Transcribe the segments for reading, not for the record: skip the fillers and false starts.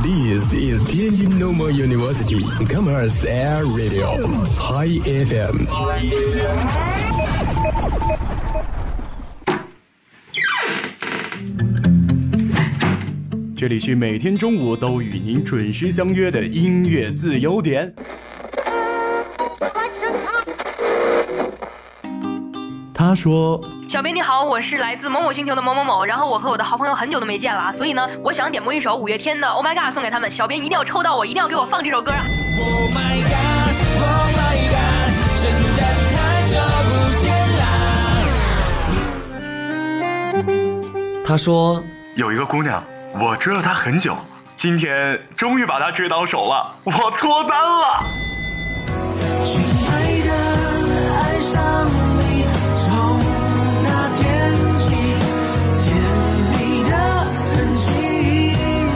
This is Tianjin Normal University Commerce Air Radio High FM。 这里是每天中午都与您准时相约的音乐自由点。他说： 小编你好，我是来自某某星球的某某某，然后我和我的好朋友很久都没见了，所以呢，我想点播一首五月天的 Oh My God 送给他们，小编一定要抽到我，一定要给我放这首歌啊 Oh my God Oh my God 真的太久不见啦。 他说有一个姑娘，我追了她很久，今天终于把她追到手了，我脱单了。 亲爱的，爱上你，从那天起，甜蜜的痕迹。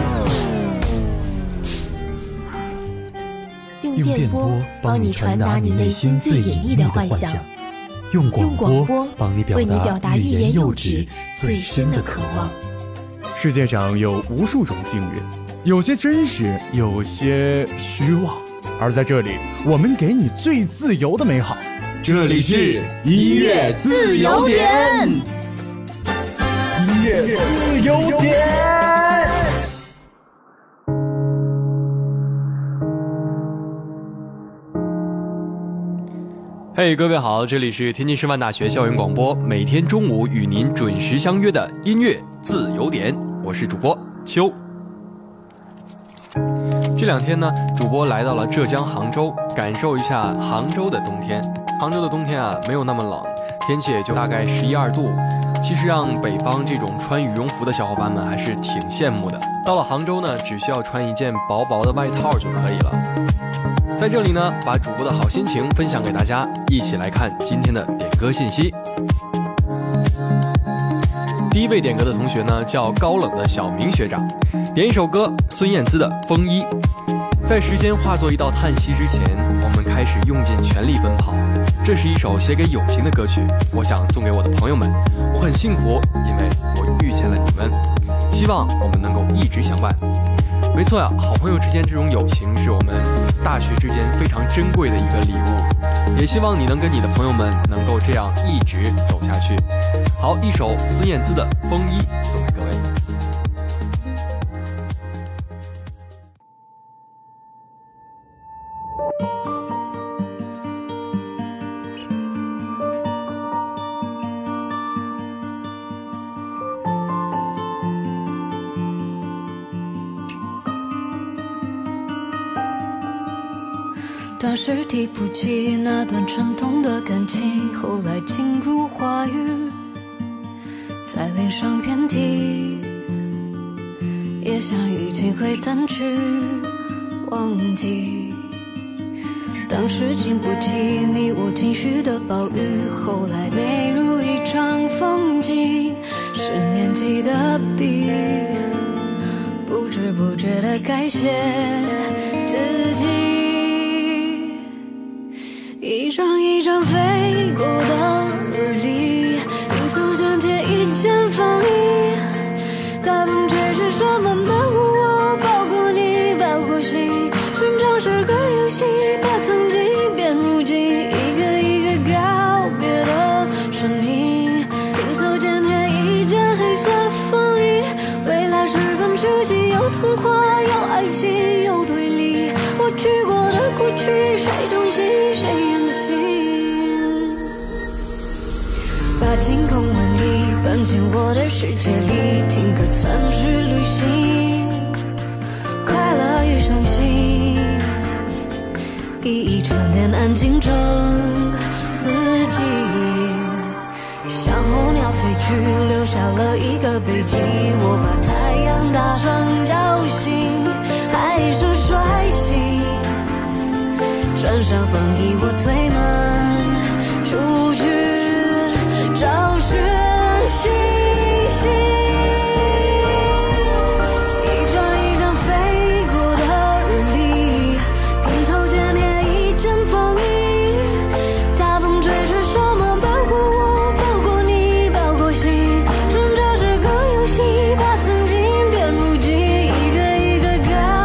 用电波帮你传达你内心最隐秘的幻想，用广播帮你表达欲言又止最深的渴望。 世界上有无数种幸运，有些真实，有些虚妄，而在这里，我们给你最自由的美好。 这里是音乐自由点， 音乐自由点。 嘿，各位好，这里是天津师范大学校园广播，每天中午与您准时相约的音乐自由点，我是主播秋。这两天呢，主播来到了浙江杭州，感受一下杭州的冬天。杭州的冬天啊，没有那么冷，天气也就大概11、12度。其实让北方这种穿羽绒服的小伙伴们还是挺羡慕的。到了杭州呢，只需要穿一件薄薄的外套就可以了。在这里呢，把主播的好心情分享给大家，一起来看今天的点歌信息。第一位点歌的同学呢，叫高冷的小明学长，点一首歌，孙燕姿的《风衣》。在时间化作一道叹息之前，我们开始用尽全力奔跑。这是一首写给友情的歌曲，我想送给我的朋友们。我很幸福，因为我遇见了你们。希望我们能够一直相伴。没错呀，好朋友之间这种友情是我们大学之间非常珍贵的一个礼物，也希望你能跟你的朋友们能够这样一直走下去。好，一首孙燕姿的《风衣》送给各位。 当时提不起那段沉痛的感情，后来进入话语，在脸上遍体，也想已经会淡去忘记。当时经不起你我情绪的暴雨，后来美如一场风景，是年纪的笔，不知不觉地改写自己。一张一张飞过的日历，拼凑成贴一件风衣，大风吹着什么保护我，包括你，包括心，成长是个游戏，把曾经变如今，一个一个告别的身影，拼凑间贴一件黑色风衣，未来是本出戏，有童话，有爱情，有对立，我去过的过去，谁痛心谁演戏，把晴空万里搬进我的世界里，听歌参去旅行，快乐与伤心，一整年安静成四季，像候鸟飞去，留下了一个背景，我把太阳打成叫醒，还是率性穿上风衣，我推门出去找寻星星。一张一张飞过的日历，拼凑间贴一件风衣，大风吹着什么包括我，包括你，包括心，成长是个游戏，把曾经变如今，一个一个告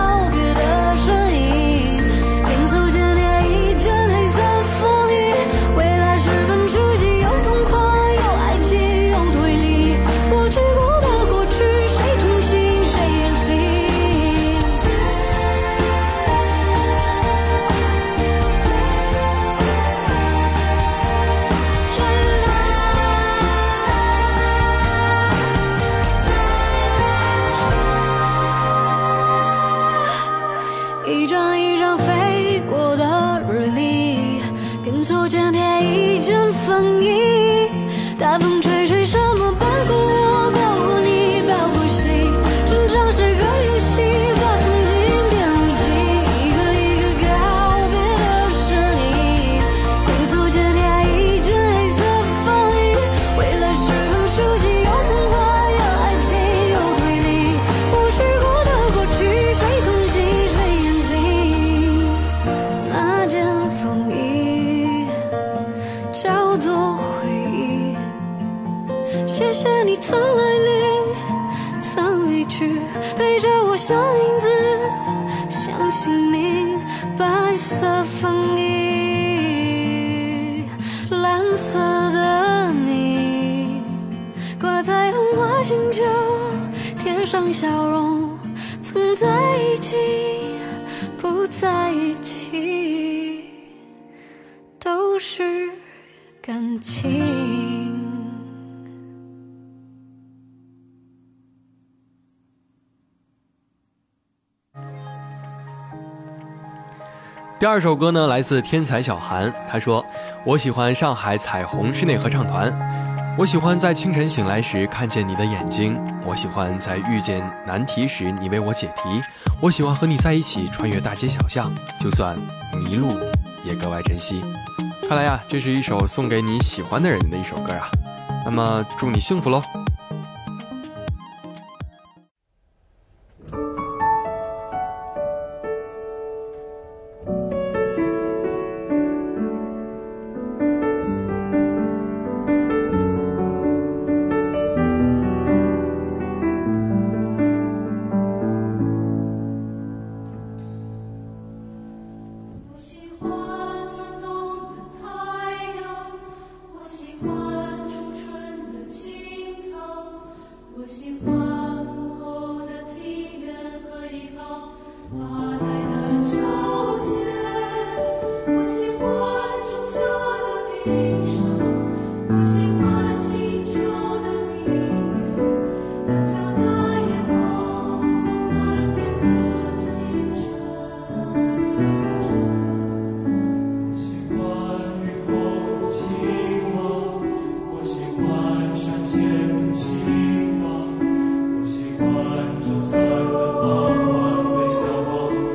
手间贴一件风衣，大风吹吹什么包裹我，包裹你，包裹心，成长是个游戏，把曾经变如今，一个一个告别的是你，用手间贴一件黑色风衣，未来是很熟悉，有童话，有爱情，有推理，我去过的过去，谁同行谁远行，那件风衣叫做回忆，谢谢你曾来临曾离去，陪着我像影子像姓名，白色风衣蓝色的你，挂在红花星球，贴上笑容，曾在一起不在一起都是感情。 第二首歌呢，来自天才小韩，他说：“我喜欢上海彩虹室内合唱团，我喜欢在清晨醒来时看见你的眼睛，我喜欢在遇见难题时你为我解题，我喜欢和你在一起穿越大街小巷，就算迷路也格外珍惜。”看来呀，这是一首送给你喜欢的人的一首歌啊。那么祝你幸福喽！ 我喜欢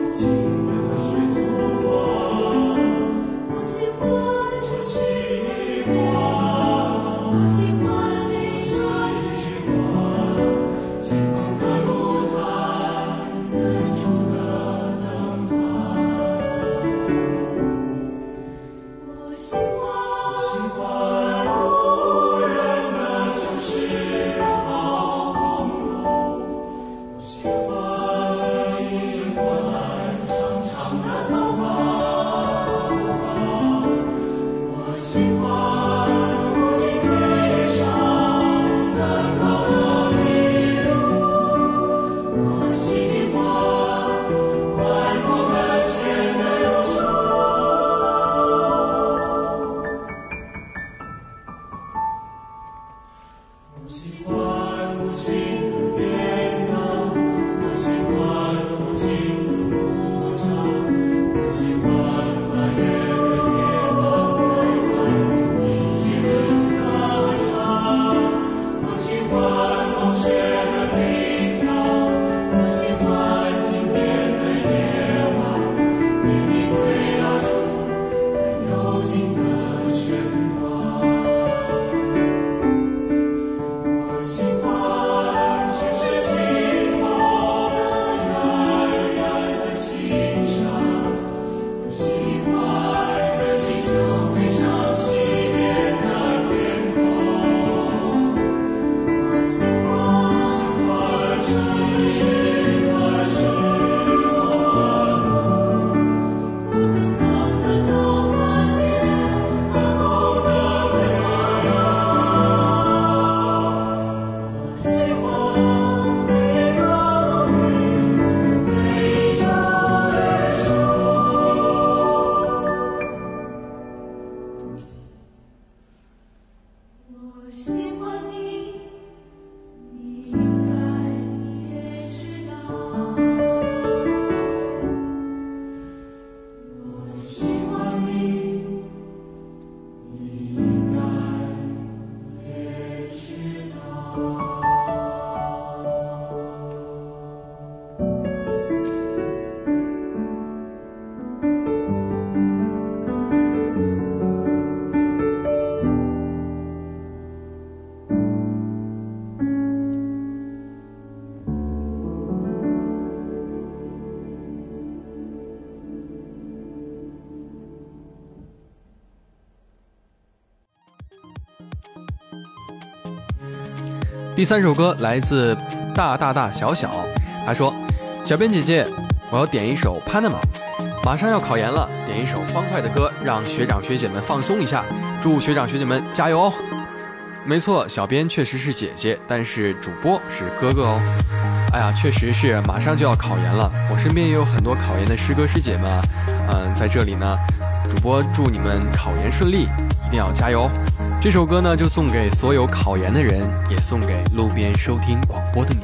第3首歌来自大小小，他说：小编姐姐，我要点一首 Panama， 马上要考研了，点一首欢快的歌，让学长学姐们放松一下，祝学长学姐们加油哦。没错，小编确实是姐姐，但是主播是哥哥哦。哎呀，确实是马上就要考研了，我身边也有很多考研的师哥师姐们啊。在这里呢，主播祝你们考研顺利，一定要加油。这首歌呢，就送给所有考研的人，也送给路边收听广播的你。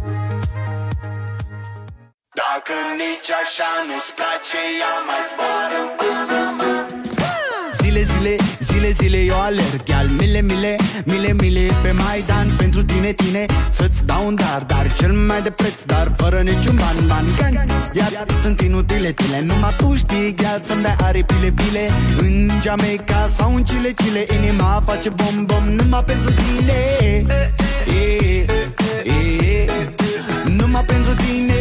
Zile, eu alerg al mile pe Maidan pentru tine, să-ți dau un dar cel mai de preț, dar fără niciun ban iar sunt inutile tine, numai tu știi, gheal, să-mi dai aripile în Jamaica sau în Chile, inima face bom numai pentru tine, numai pentru tine.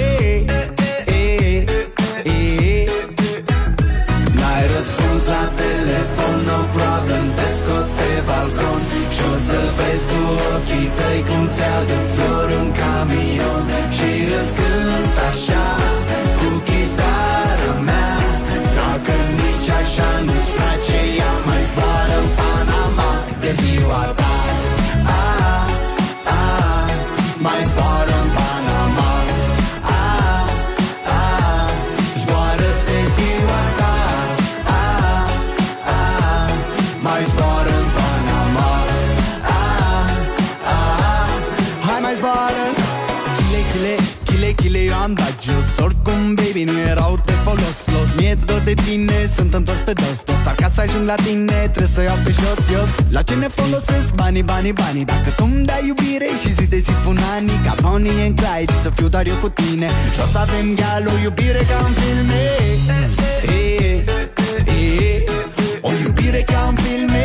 N-ai răspuns la telefon, no problem, te scot pe balcon și o să vezi cu ochii tăi cum ți-aduc flori în camion și îți cânt așa cu chitara mea. Dacă nici așa nu-ți place, ea mai zboară în Panama de ziua ta. Mai zboară în Panama. Zboară de ziua ta. Mai zboară în Panama. Hai mai zboară. Chile, eu am dat jos. Oricum, baby, nu erau de folos. Mi-e dor de tine, sunt întors pe dos. Dar ca să ajung la tine, trebuie să iau pe jos. La ce ne folosesc banii? Dacă tu-mi dai iubire și zi de zi pun ani, ca Bonnie and Clyde, să fiu doar eu cu tine. Și o să avem gheal, o iubire ca în filme. O iubire ca în filme.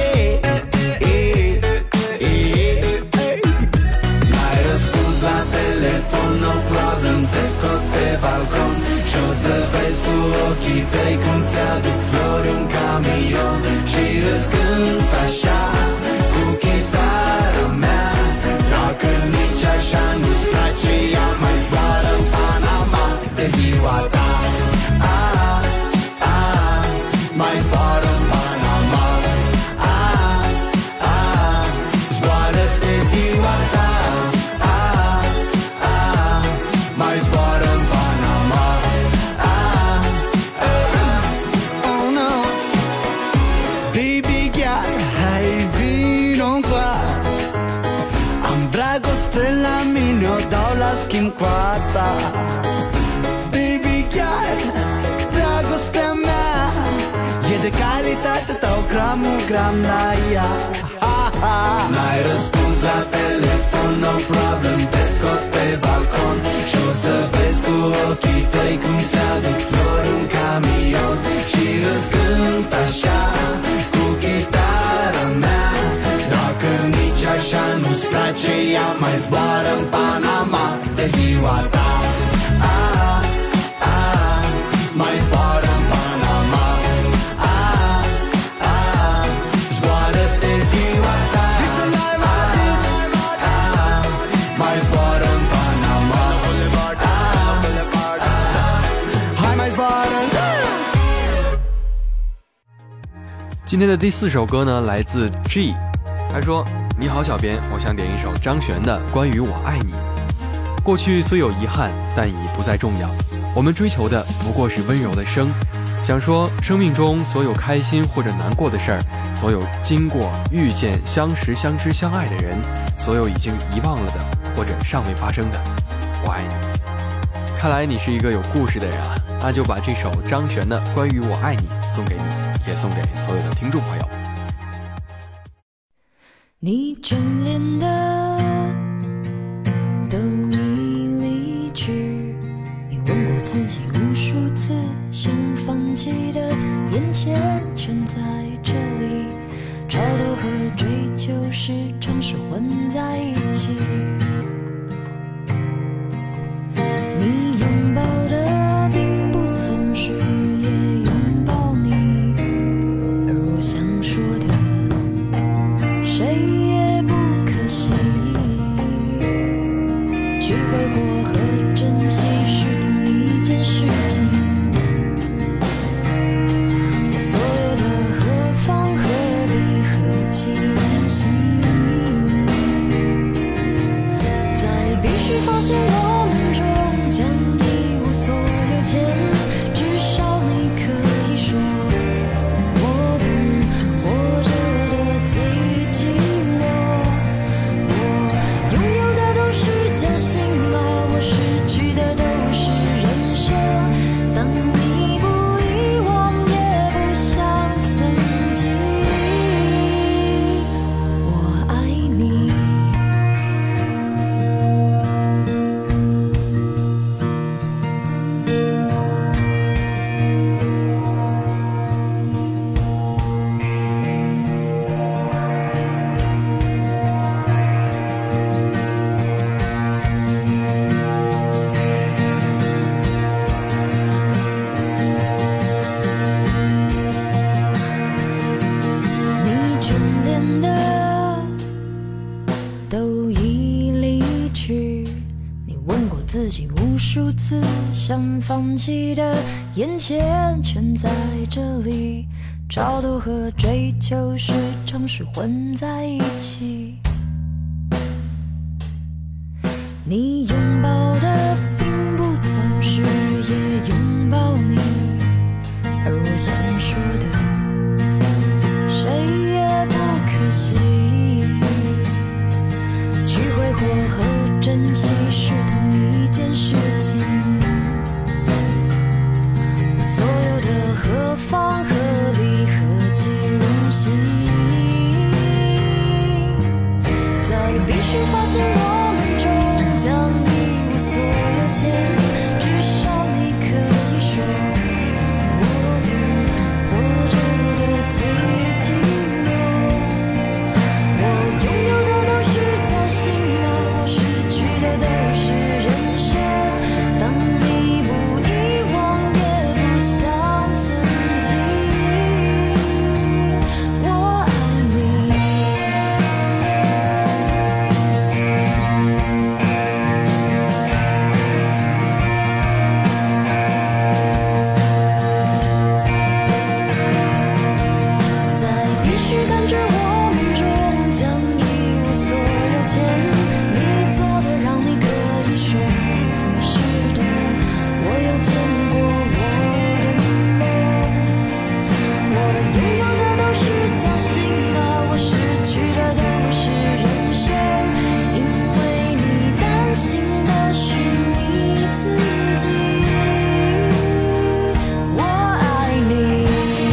N-ai răspuns la telefon, no problem, te scot pe balcon și o să vezi cu ochii tăi cum ți-aduc flori în camion și îți cânt așa cu chitara mea. Dacă nici așa nu-ți place, ea mai zboară în Panama de ziua ta. Mai zboară în Panama. Zboară de ziua ta. Mai zboară în Panama. Oh no. Baby girl, hai vino încoa. Am dragoste la mine, o dau la schimb cu a ta. Baby girl, dragostea mea e de calitate, dau gram la ea. N-ai răspuns la telefon, no problem, te scot pe balcon și o să vezi cu ochii tăi cum ți-aduc flori în camion și îți cânt așa cu chitara mea. Dacă nici așa nu-ți place, ea mai zboară în Panama de ziua ta. Mai zboară în Panama. Zboară de ziua ta. Mai zboară în Panama. Hai mai zboară. 今天的第4首歌呢，来自 G， 他说：你好小编，我想点一首张悬的《关于我爱你》。过去虽有遗憾，但已不再重要，我们追求的不过是温柔的生。想说生命中所有开心或者难过的事儿，所有经过遇见相识相知相爱的人，所有已经遗忘了的或者尚未发生的，我爱你。看来你是一个有故事的人啊，那就把这首张悬的《关于我爱你》送给你，也送给所有的听众朋友。 你眷恋的都已离去，你问过自己无数次，想放弃的眼前全在这里，超脱和追求时常是混在一起。你拥抱的并不总是也拥抱你，而我想说的谁也不可惜。 想放弃的，眼前全在这里。超度和追求时常是混在一起。你拥抱的并不总是也拥抱你，而我想说的，谁也不可惜。去挥霍和珍惜是同一件事情。所有的何方何必何其荣幸，在必须发现我们终将一无所有前，至少你可以说我懂活着的最寂寞。我拥有的都是侥幸的，我失去的都是人生。当你不遗忘也不像曾经，我爱你。在必须感觉我们终将一无所有前，你做的让你可以说是的，我有见过我的梦。我拥有的都是侥幸的，我失去的都是人生，因为你担心的是你自己。我爱你。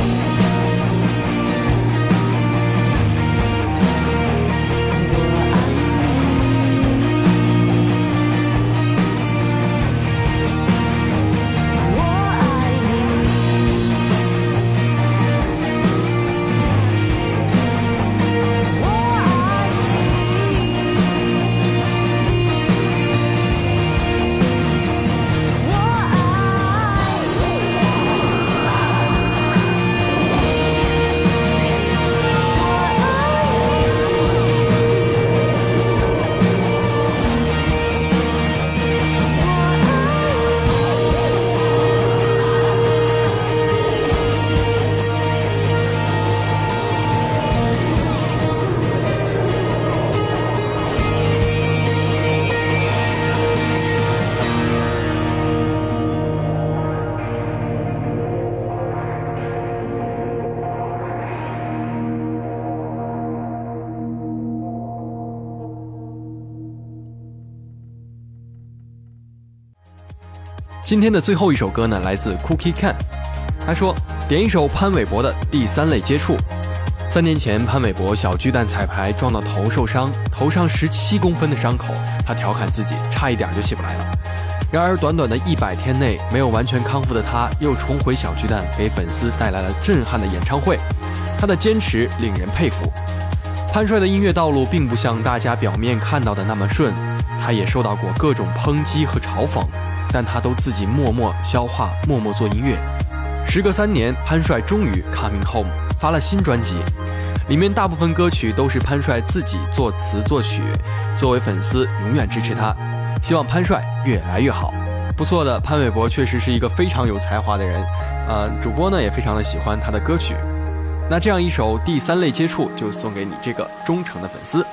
今天的最后一首歌呢，来自 Cookie Can。他说点一首潘玮柏的《第三类接触》。3年前，潘玮柏小巨蛋彩排撞到头受伤，头上17公分的伤口，他调侃自己差一点就起不来了。然而短短的100天内，没有完全康复的他，又重回小巨蛋，给粉丝带来了震撼的演唱会。他的坚持令人佩服。潘帅的音乐道路并不像大家表面看到的那么顺，他也受到过各种抨击和嘲讽，但他都自己默默消化，默默做音乐。时隔3年，潘帅终于 coming home， 发了新专辑，里面大部分歌曲都是潘帅自己作词作曲。作为粉丝，永远支持他，希望潘帅越来越好。不错的，潘玮柏确实是一个非常有才华的人，主播呢也非常的喜欢他的歌曲。那这样一首《第三类接触》就送给你这个忠诚的粉丝。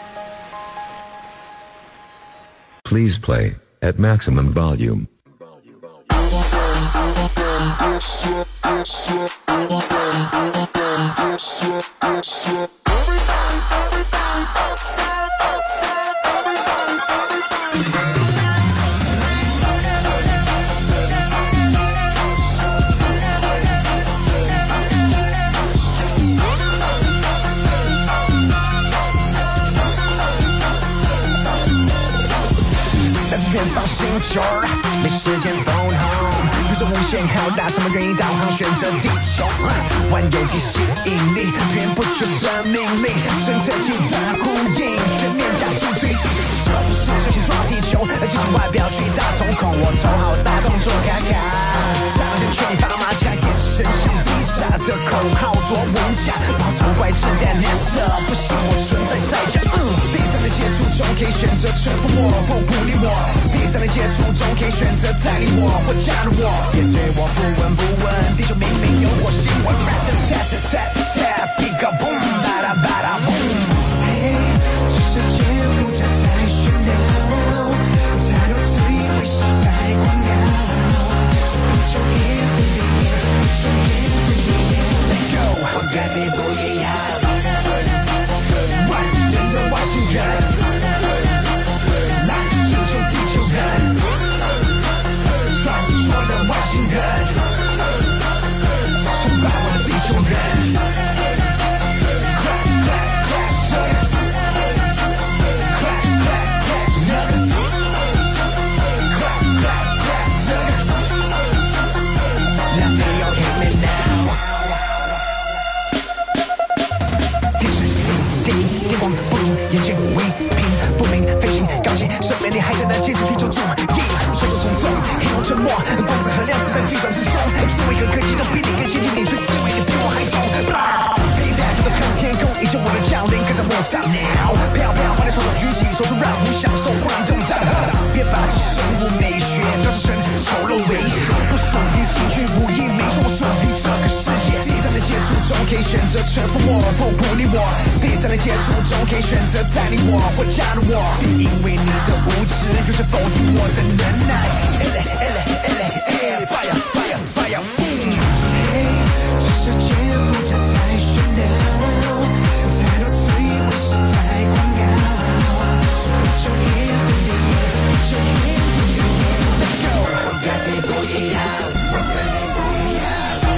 Please play at maximum volume. 没时间 phone home， 宇宙无限浩大，什么原因导航选择地球？万有地吸引力，源不绝生命力，侦测器在呼应，全面加速推进。这不是神奇撞地球，而进行外表巨大瞳孔，我头好大动作卡卡，上线全打马甲，眼神像披萨的口号多无价，矛头怪自带脸色，不信我存在代价。第三类的接触中可以选择臣服我，不鼓励我；第三的接触中可以选择带领我或加入我。别对我不闻不问，地球明明有火星文。Tap boom， 吧嗒吧嗒 boom。嘿，这世界复杂太喧闹，太多自以为是太狂傲。So put your hands in the air, put your hands in the air. Let go， 我跟你不一样。万人的外星人，来拯救地球人，传说的外星人，崇拜我的地球人。眼见为凭，不明飞行高级生命力还在那坚持地球注意，传说从众，黑红沉默，光子和量子在计算之中，思维和科技都比你更先进，你却自为你比我还懂。飞带着的看着天空，依旧我的降临，跟着我 stop now， 飘飘把你双手举起，说出让我享受忽然动荡。别把这生物美学标志成丑陋猥琐，不属于情绪无意，没错，我属于这个世界。第三的接触中可以选择臣服我，不鼓励我；第三的接触中可以选择带领我或加入我，因为你的无知有时否定我的能耐。Fire fire fire， 嘿，这世界复杂太喧闹，太多自以为是太狂傲。So put your hands in the air, put your hands in the air. Let go， 我跟你不一样，我跟你不一样。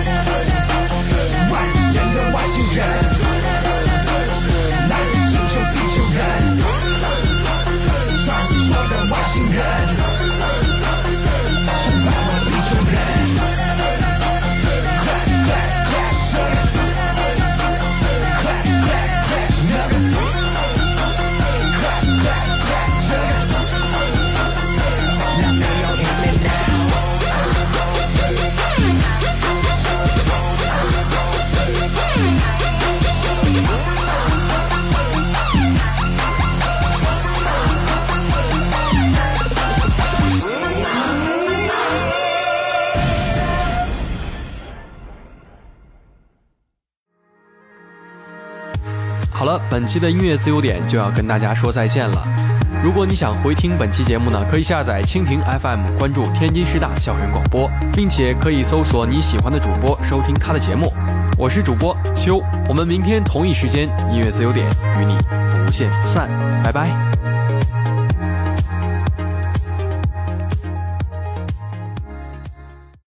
万人的外星人，来拯救地球人，传说的外星人，崇拜我地球人。 好了，本期的音乐自由点就要跟大家说再见了。如果你想回听本期节目呢，可以下载蜻蜓 FM， 关注天津师大校园广播，并且可以搜索你喜欢的主播收听他的节目。我是主播秋，我们明天同一时间音乐自由点与你不见不散，拜拜。